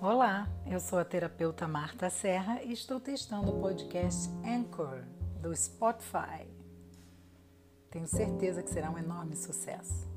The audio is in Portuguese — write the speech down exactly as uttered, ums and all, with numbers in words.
Olá, eu sou a terapeuta Marta Serra e estou testando o podcast Anchor do Spotify. Tenho certeza que será um enorme sucesso.